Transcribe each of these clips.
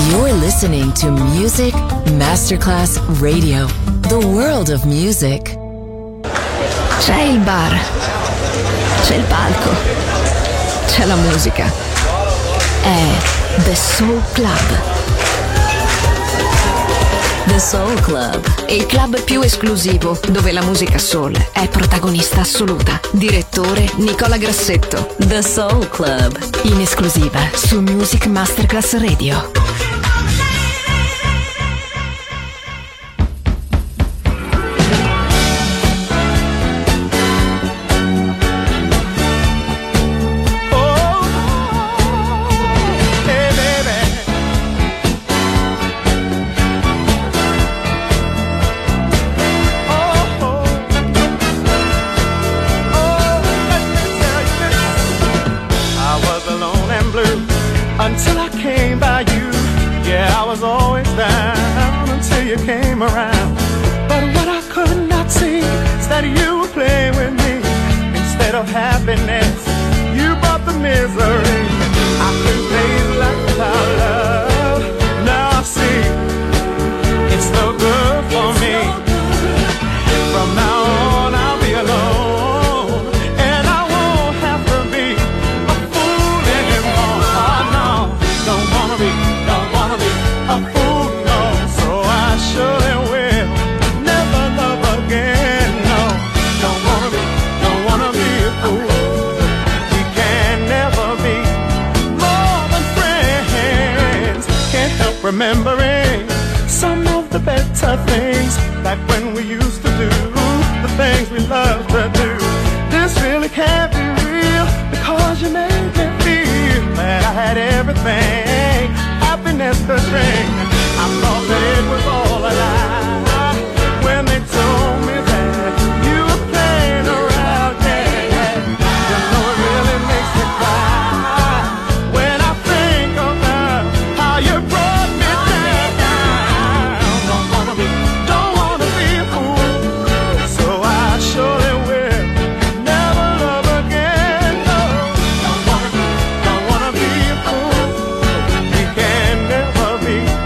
You're listening to Music Masterclass Radio, the world of music. C'è il bar, c'è il palco, c'è la musica. È The Soul Club. The Soul Club, Il club più esclusivo dove la musica soul è protagonista assoluta. Direttore Nicola Grassetto. The Soul Club, In esclusiva su Music Masterclass Radio. Until I came by you, yeah, I was always down until you came around. But what I could not see is that you were playing with me. Instead of happiness, you brought the misery. I couldn't face life without love. Now I see it's no good for me. From now on, I'll be alone, and I won't have to be a fool anymore. Don't wanna be a fool, no. So I surely will never love again, no. Don't wanna be a fool. We can never be more than friends. Can't help remembering some of the better things, like when we used to do the things we loved to do. This really can't be real, because you made me feel that I had everything, happiness could bring. I thought that it was all a lie when they told me that you were playing around, yeah. You know it really makes me cry when I think about how you brought me down. Don't wanna be a fool, so I surely will never love again, no. Don't wanna be a fool. We can never be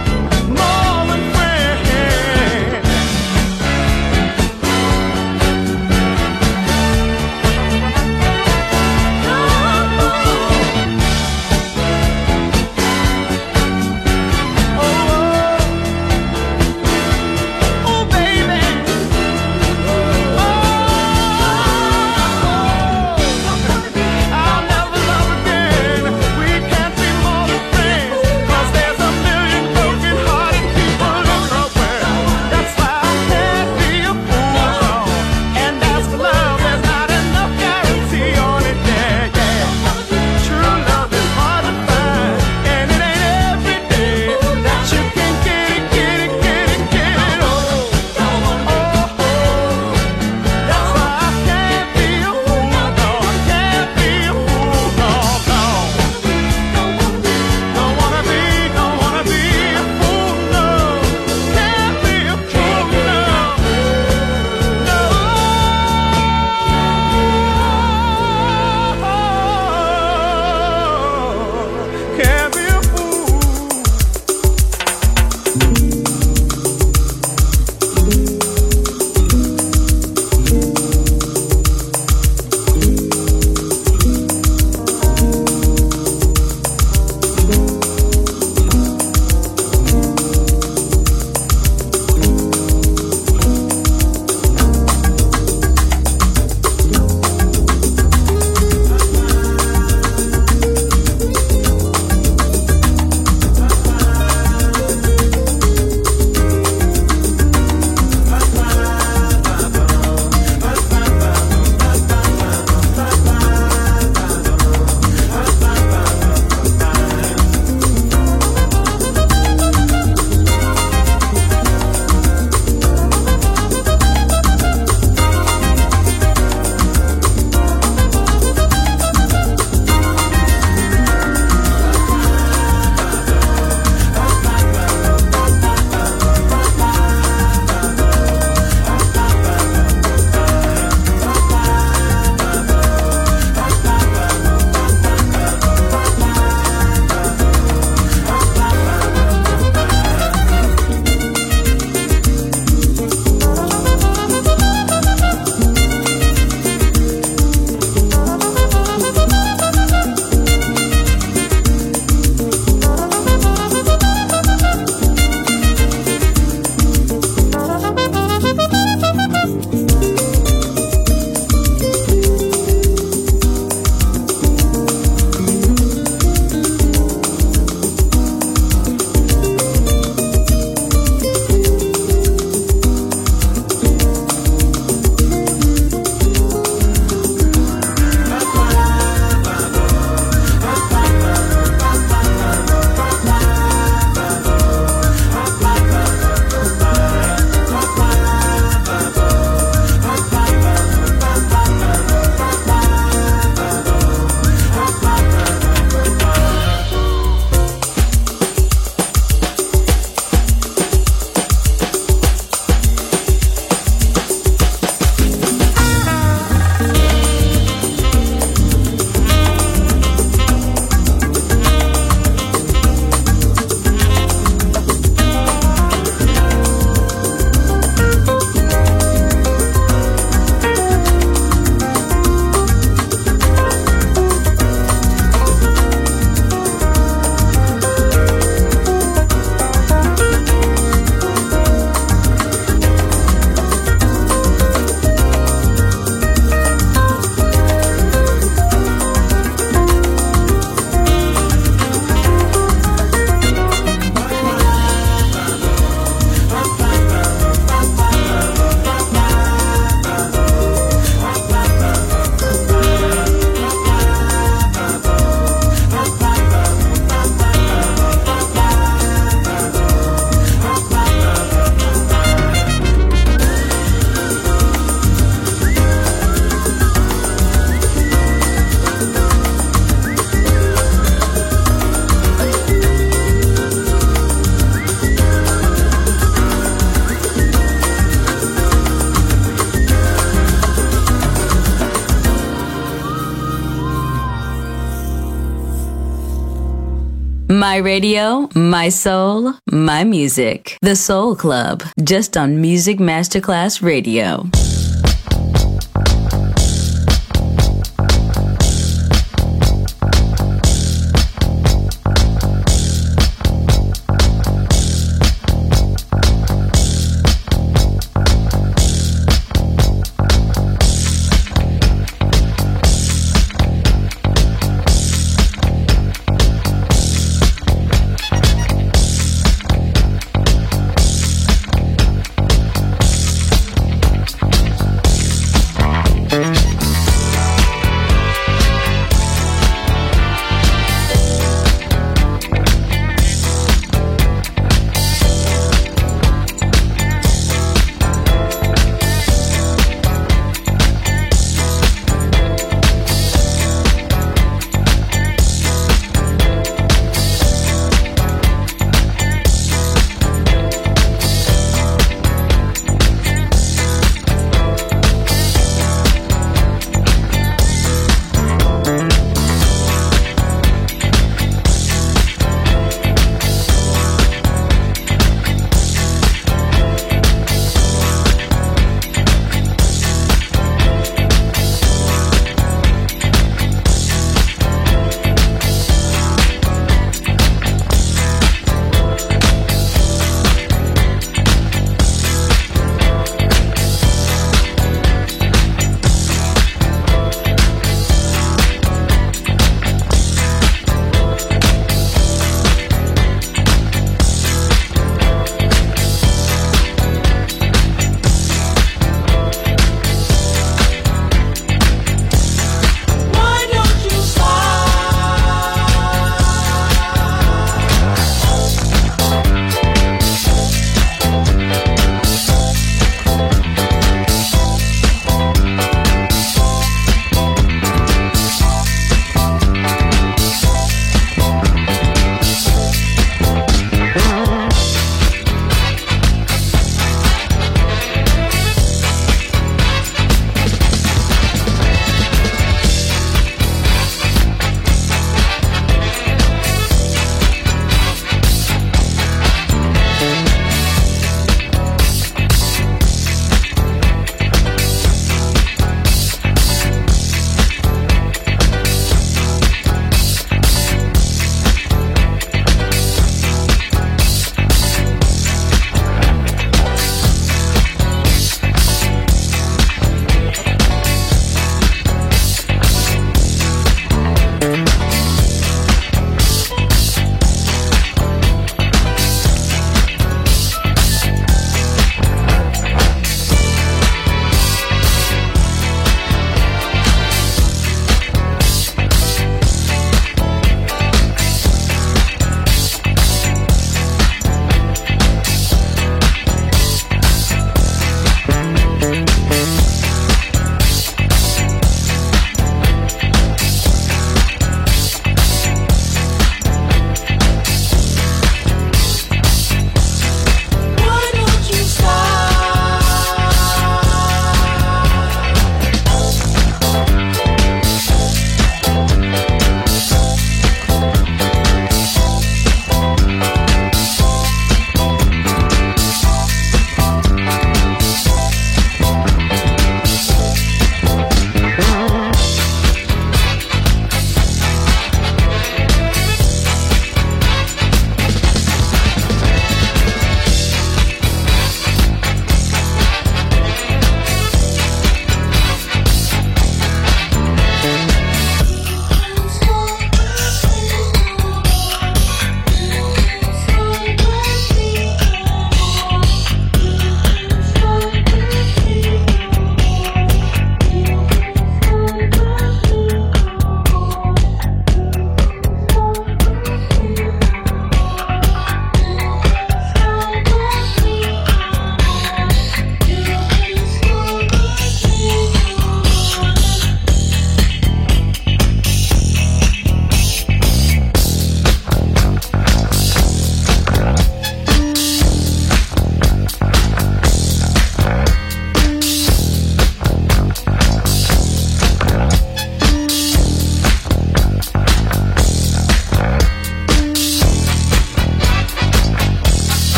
My radio, my soul, my music. The Soul Club, just on Music Masterclass Radio.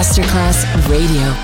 Masterclass Radio.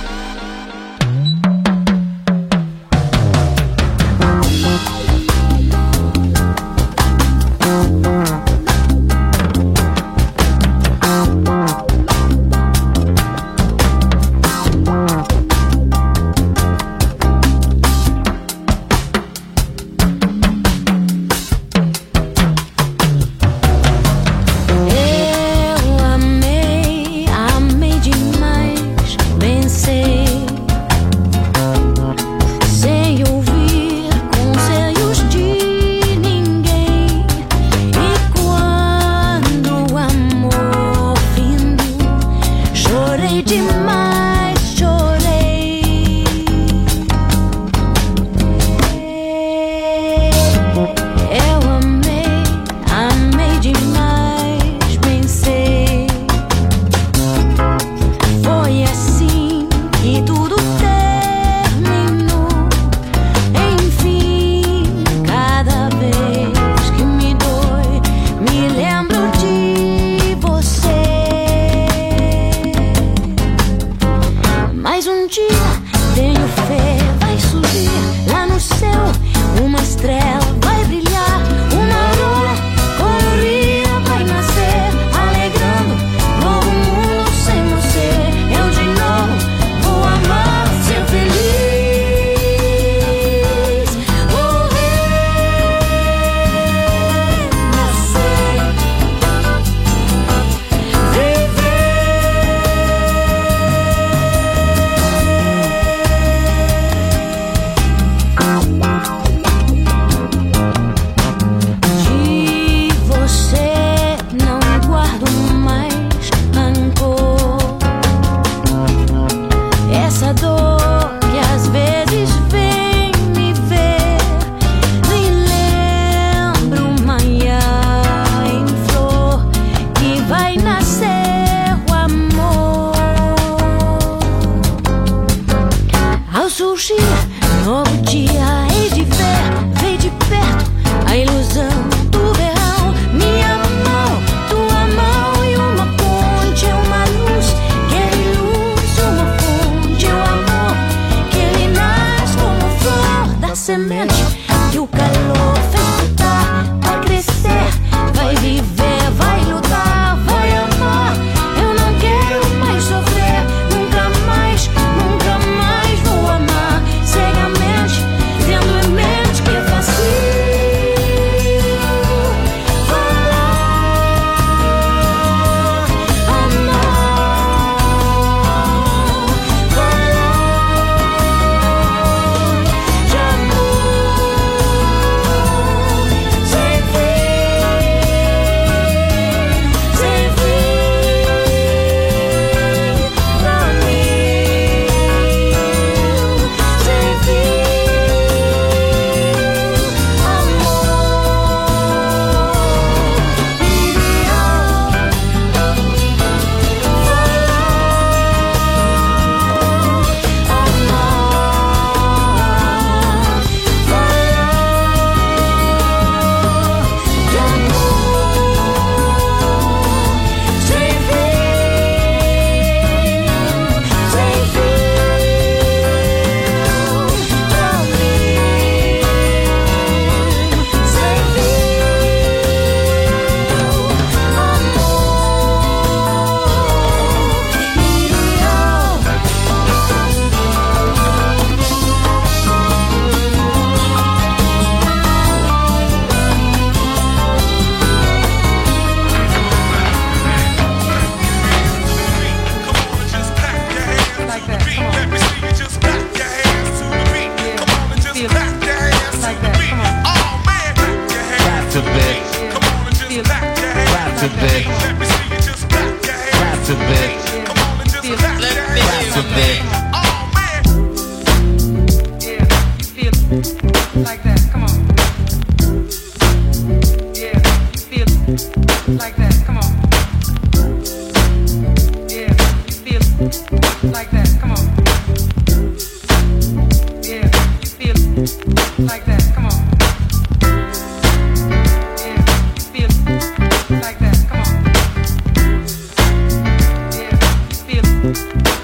like that. Come on. Yeah, feel it like that. Come on.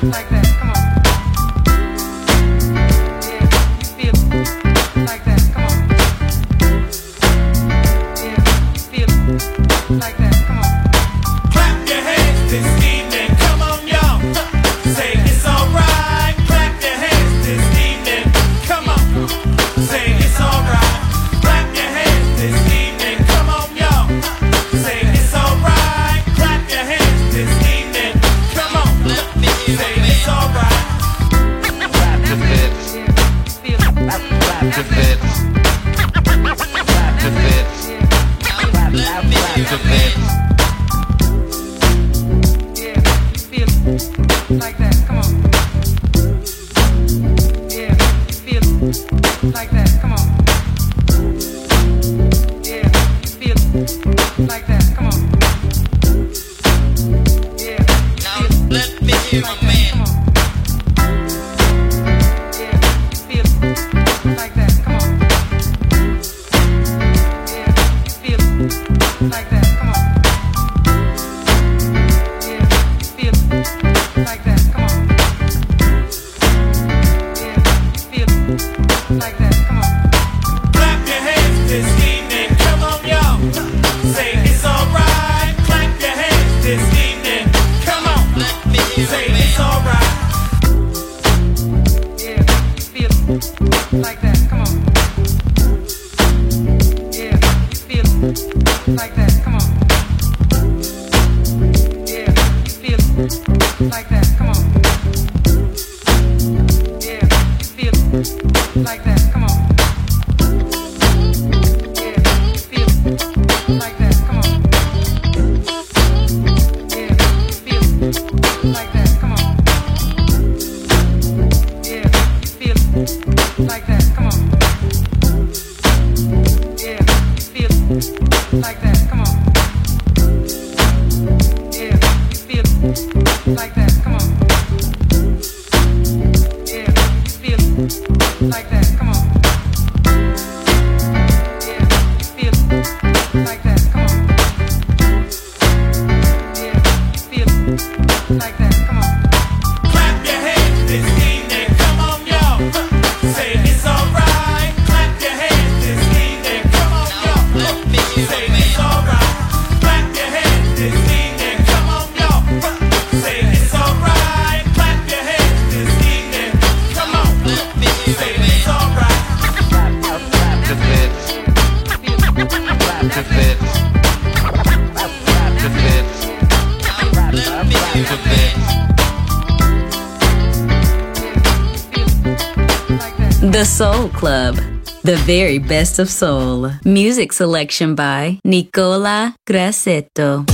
The Soul Club, the very best of soul. Music selection by Nicola Grassetto.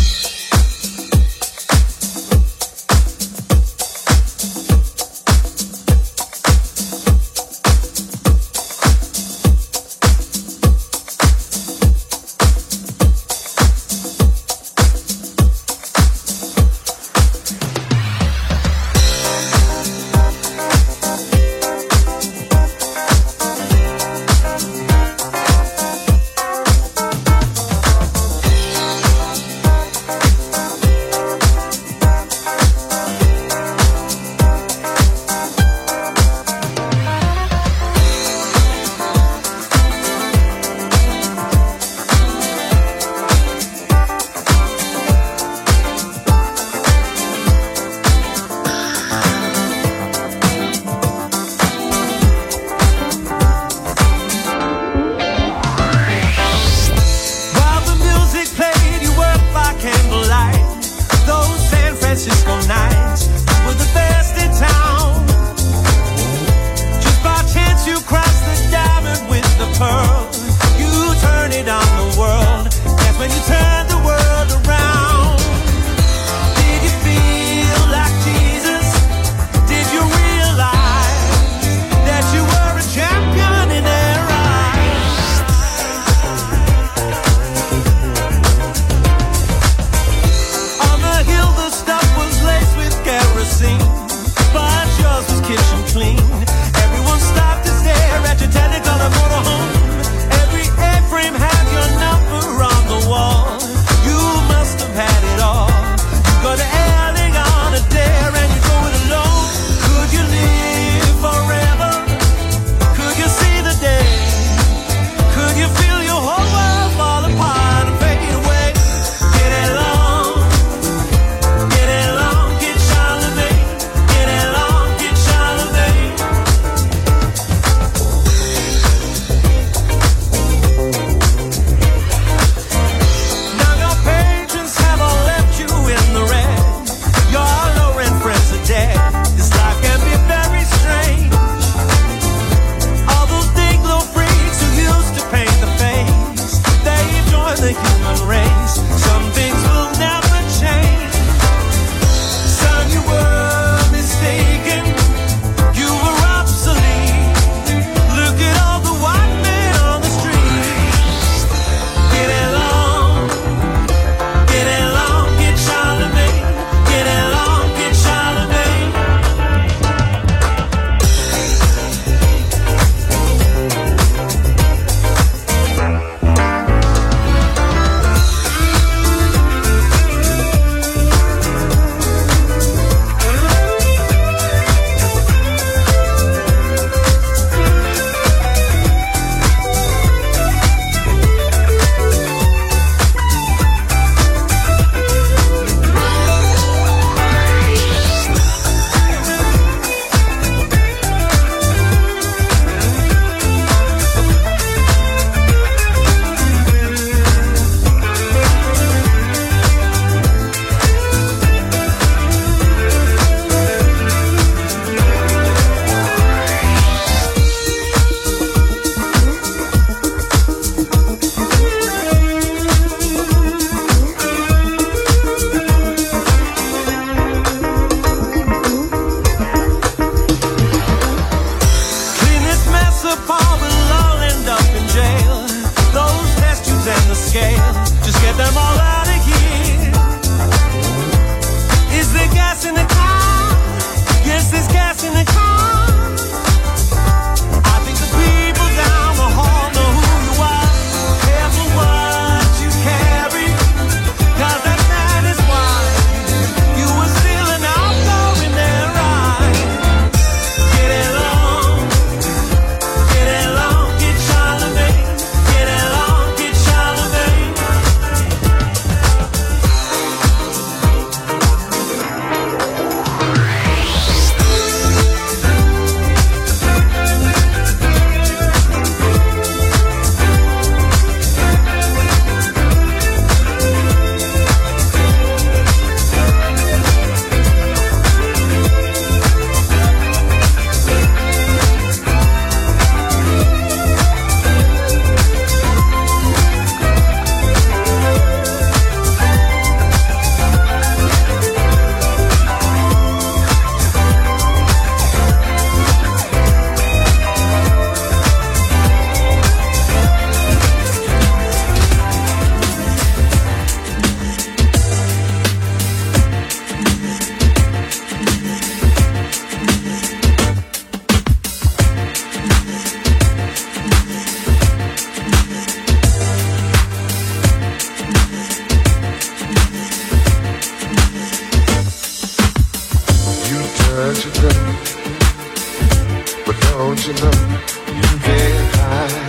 Don't you know you can't hide?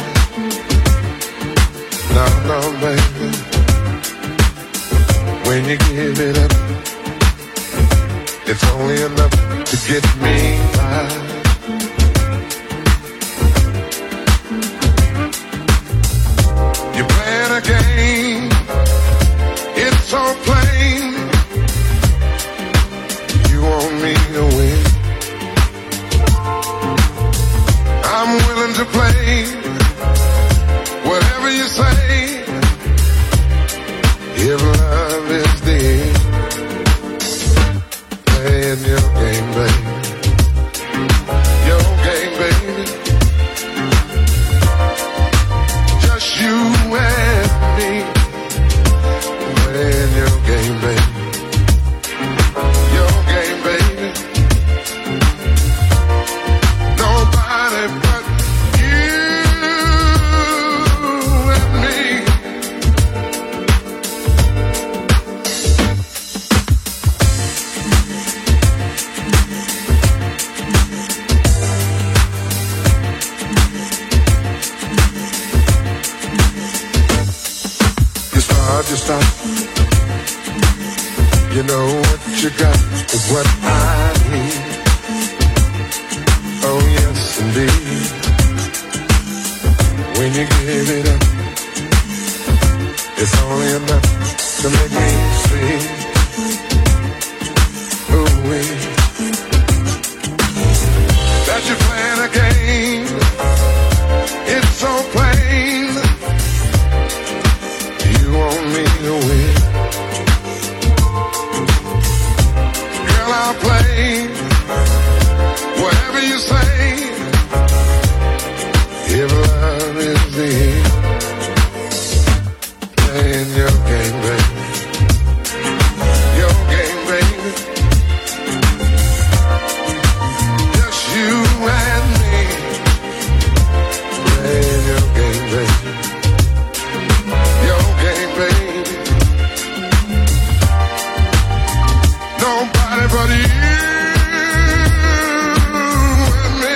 No, no, baby. When you give it up, it's only enough to get me by. You're playing a game, it's so plain. You want me to win, I'm willing to play whatever you say. If love is the end, playing your game, baby. Your game, baby. Just you and me, playing your game, baby. Your game, baby. Nobody but you and me. You stop. You know what you got is what I need. Oh yes indeed. When you give it up, it's only enough to make me see. Ooh-wee. That you're playing a game, it's so plain. You want me to win, girl, I'll play whatever you say. If love is the end, playing your game, baby. Your game, baby. Just you and me, playing your game, baby. Your game, baby. Nobody but you and me.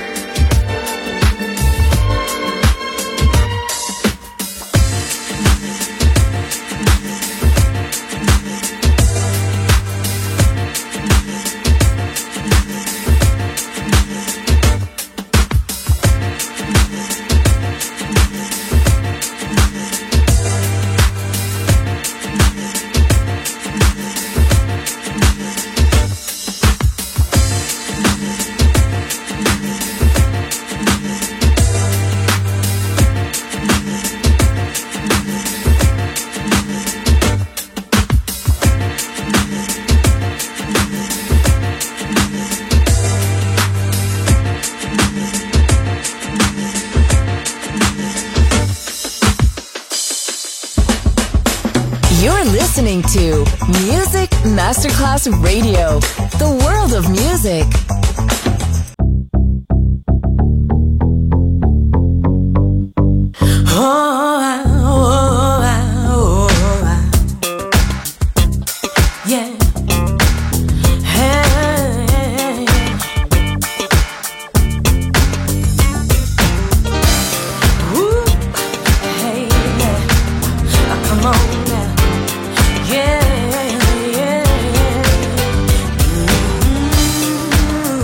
You're listening to Music Masterclass Radio, the world of music. Yeah.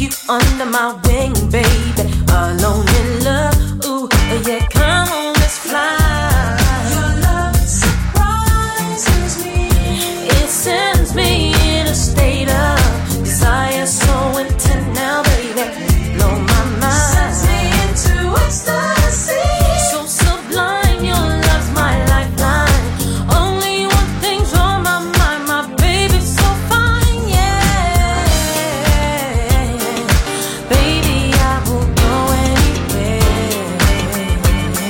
you under my wing, baby. Alone in love, ooh, yeah, come on, let's fly. Your love surprises me. It sends me in a state of desire so intense now, baby. Blow my mind. Sends me into ecstasy. So sublime, your love's my lifeline. Only one thing's on my mind, my baby's so fine, yeah. Baby, I will go anywhere.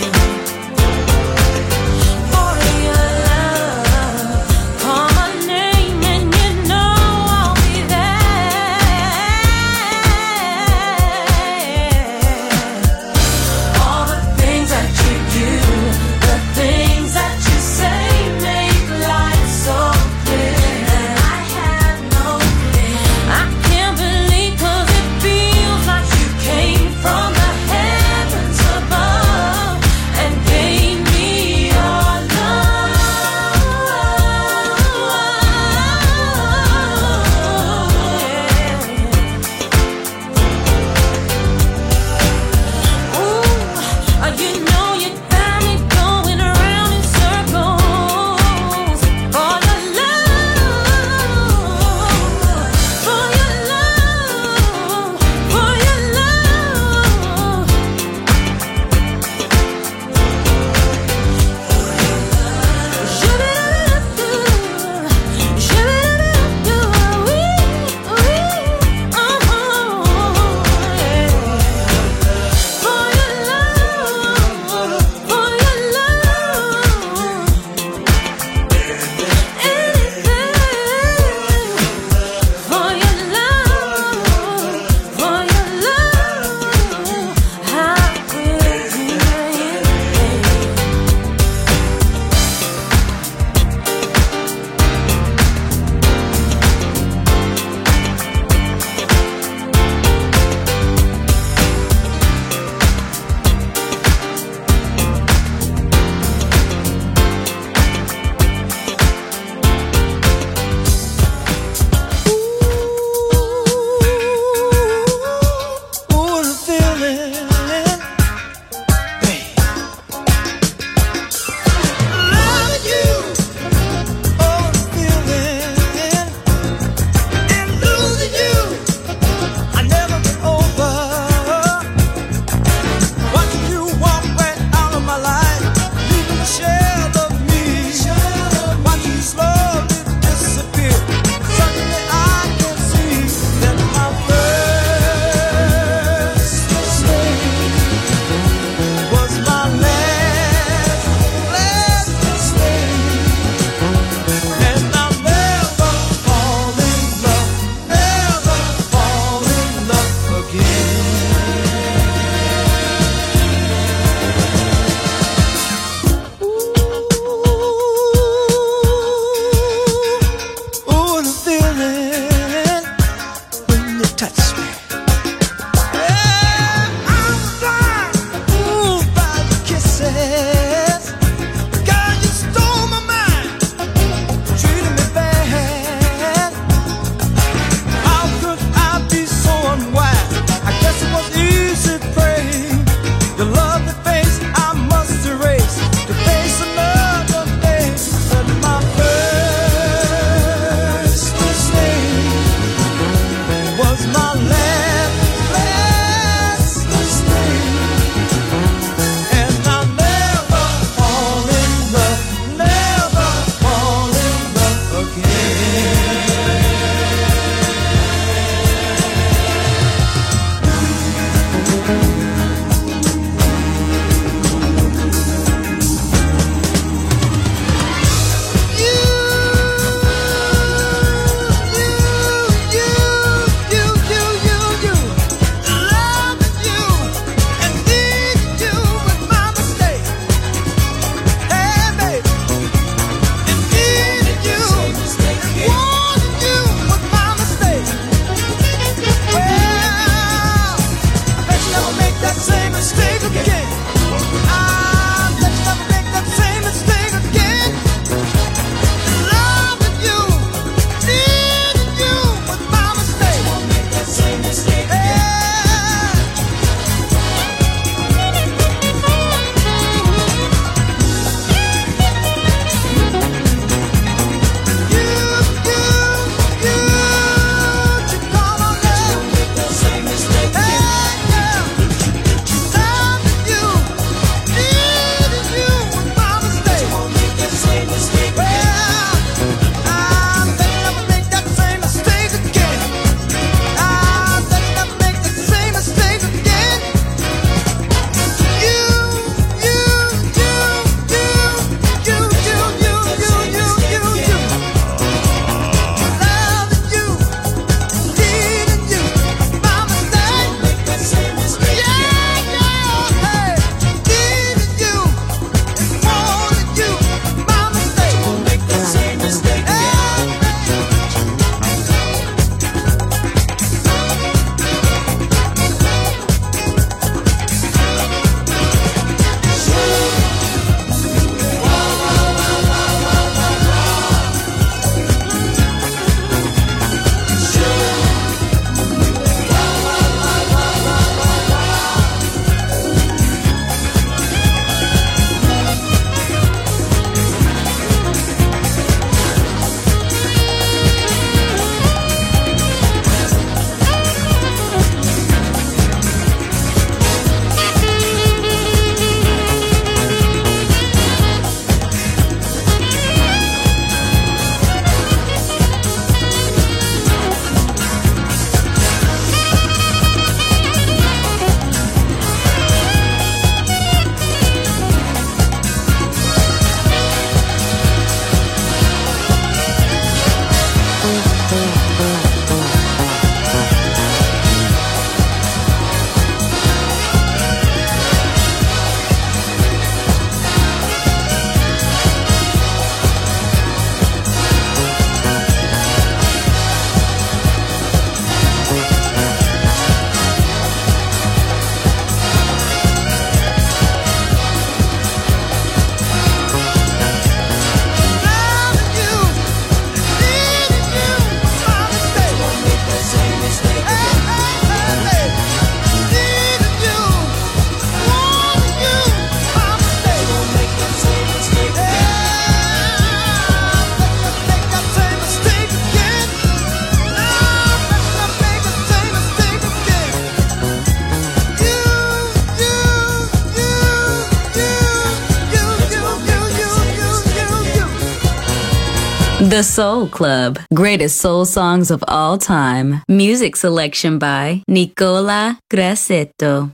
The Soul Club. Greatest soul songs of all time. Music selection by Nicola Grassetto.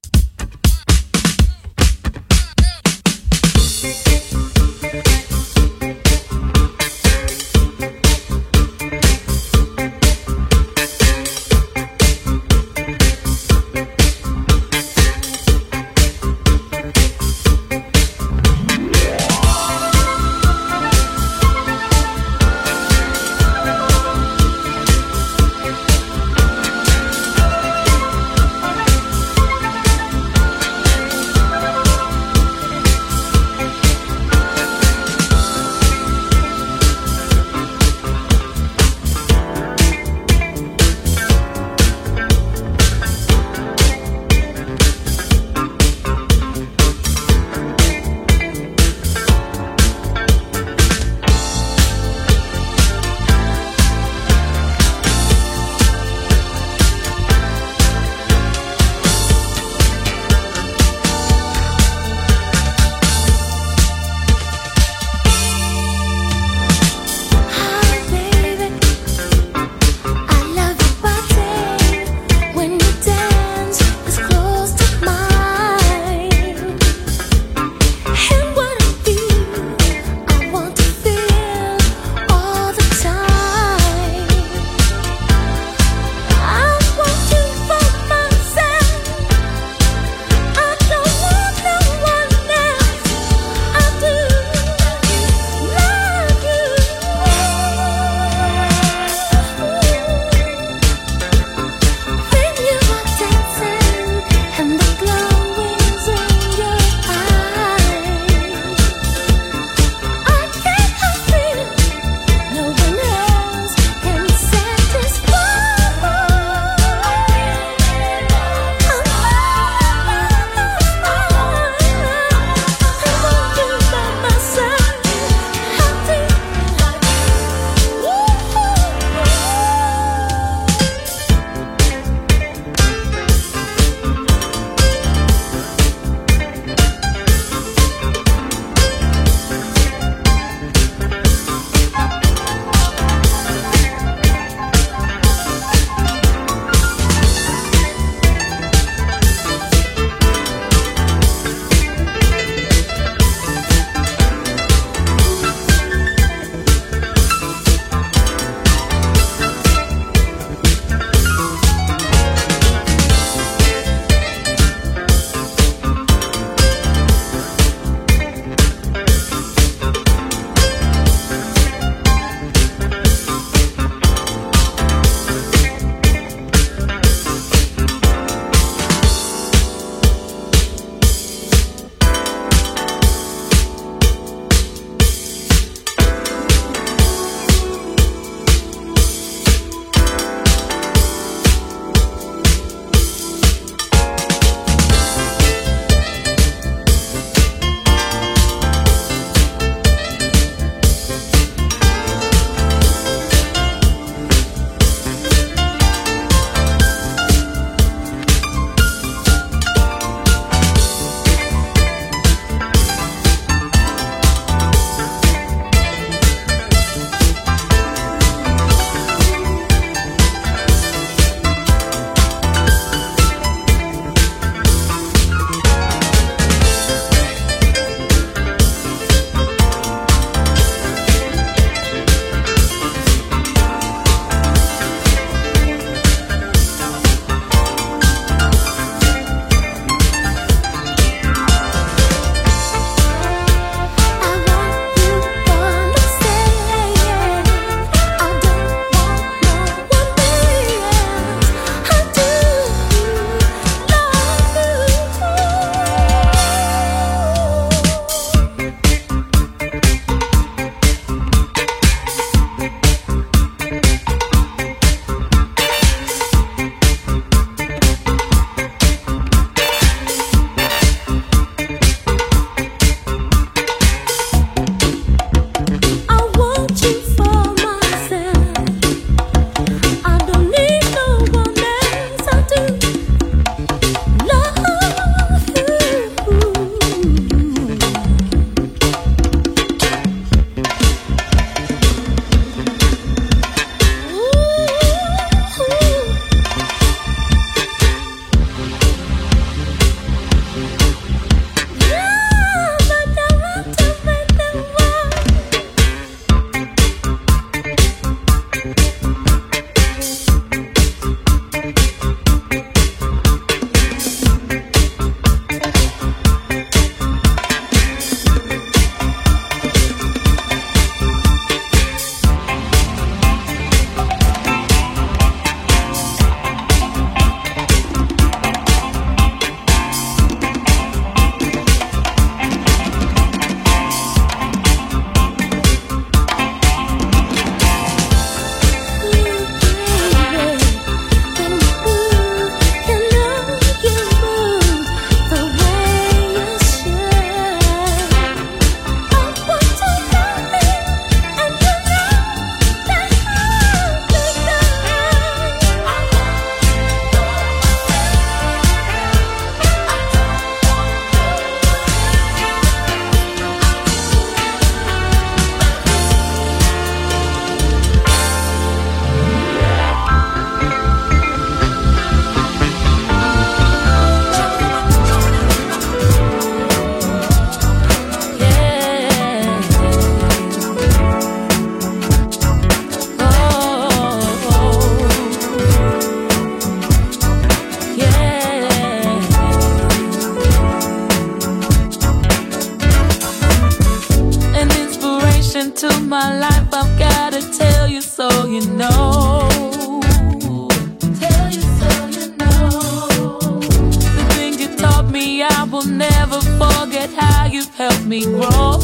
me grow.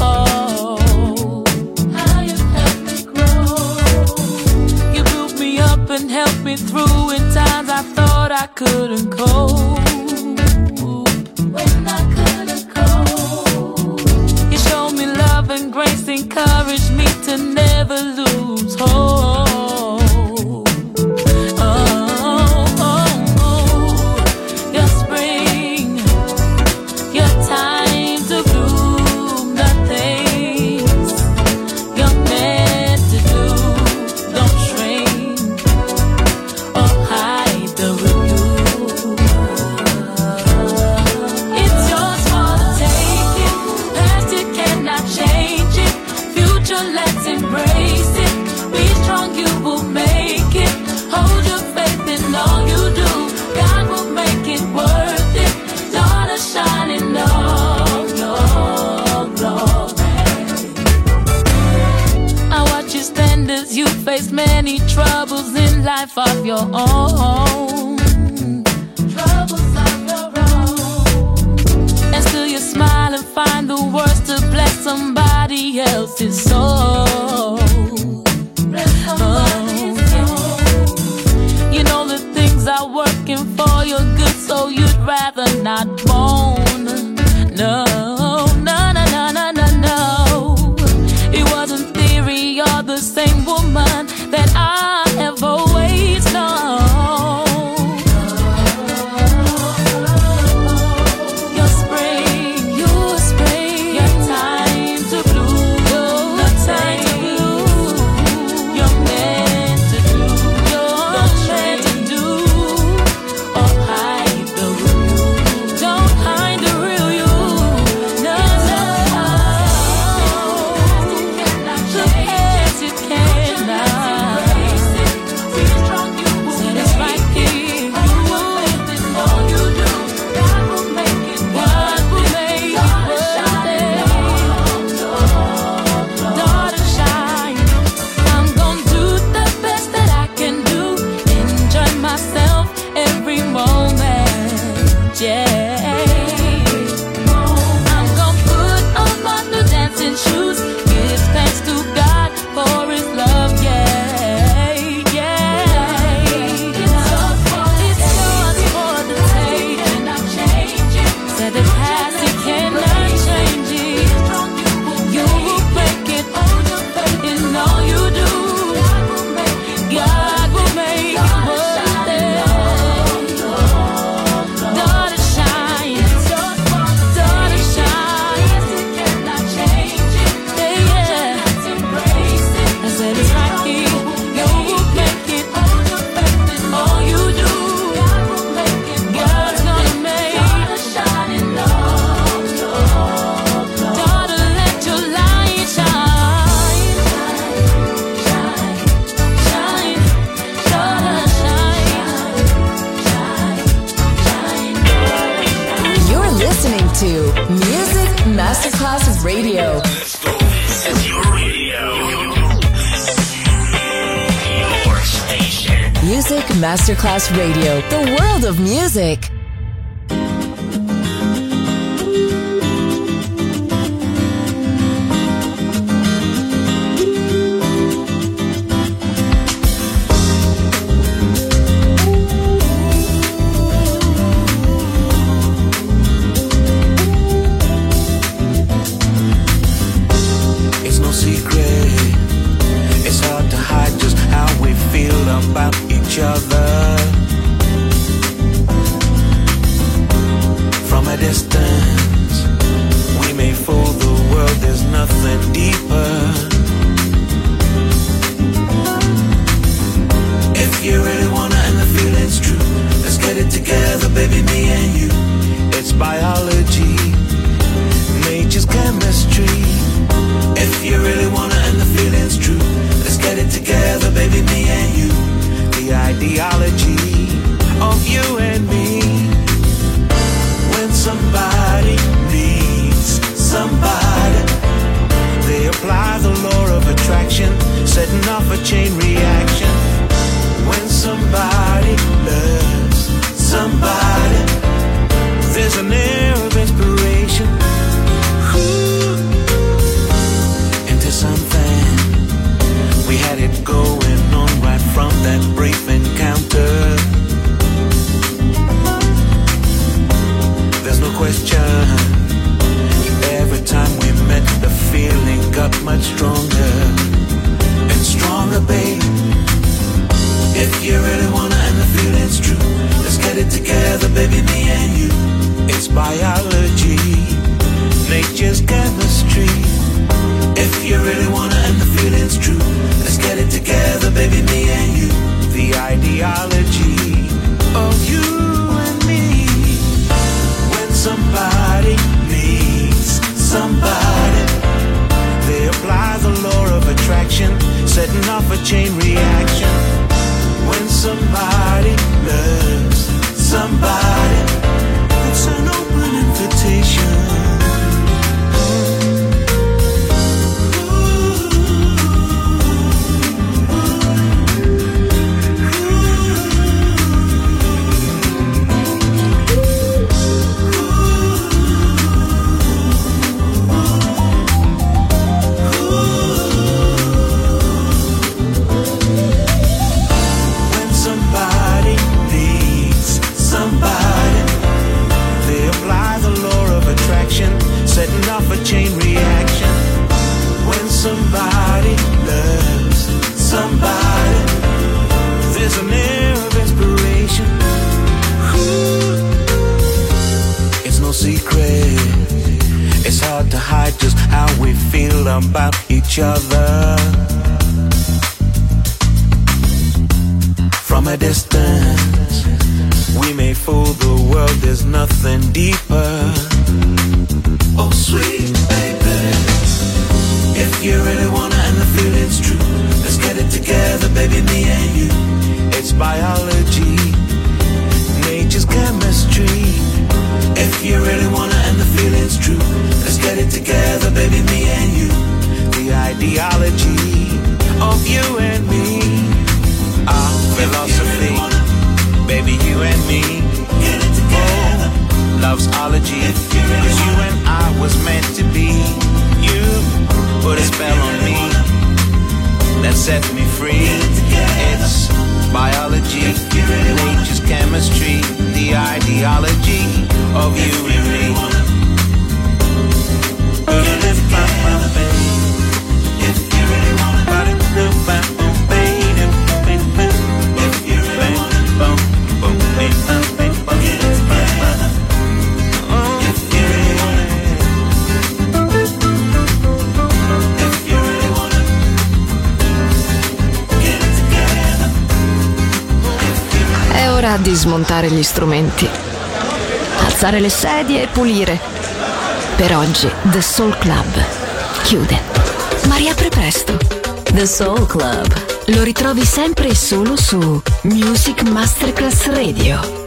How you helped me grow. You built me up and helped me through in times I thought I couldn't cope. When I couldn't cope, you showed me love and grace, encouraged me to never lose hope. Face many troubles in life of your own. Troubles of your own. And still you smile and find the words to bless somebody else's soul. You know the things are working for your good, so you'd rather not moan. No, no, no, no, no, no, no. It wasn't theory or the same woman that I have always known. Your spring, your spring, your time to bloom, your time to bloom. You're meant to do, you're meant to do, or hide the real. Don't hide the real you. No, no. The past you cannot. Masterclass Radio. This is your radio. Your station. Music Masterclass Radio. The world of music. Ideology baby, me and you. It's biology, nature's chemistry. If you really wanna and the feeling's true, let's get it together, baby, me and you. The ideology of you and me. When somebody needs somebody, they apply the law of attraction, setting off a chain reaction. When somebody loves somebody, it's an open invitation. Setting off a chain reaction. When somebody loves somebody, there's an air of inspiration. Ooh. It's no secret, it's hard to hide just how we feel about each other. From a distance, we may fool the world, there's nothing deeper. Oh sweet baby, if you really wanna and the feeling's true, let's get it together, baby, me and you. It's biology, nature's chemistry. If you really wanna and the feeling's true, let's get it together, baby, me and you. The ideology of you and me. Our philosophy, baby, you and me. Get it together. Oh, love's ology, cause you and I was meant to be. You put a spell on me that sets me free. It's biology, nature's chemistry, the ideology of you and me. Di smontare gli strumenti, alzare le sedie e pulire. Per oggi The Soul Club chiude, ma riapre presto. The Soul Club lo ritrovi sempre e solo su Music Masterclass Radio.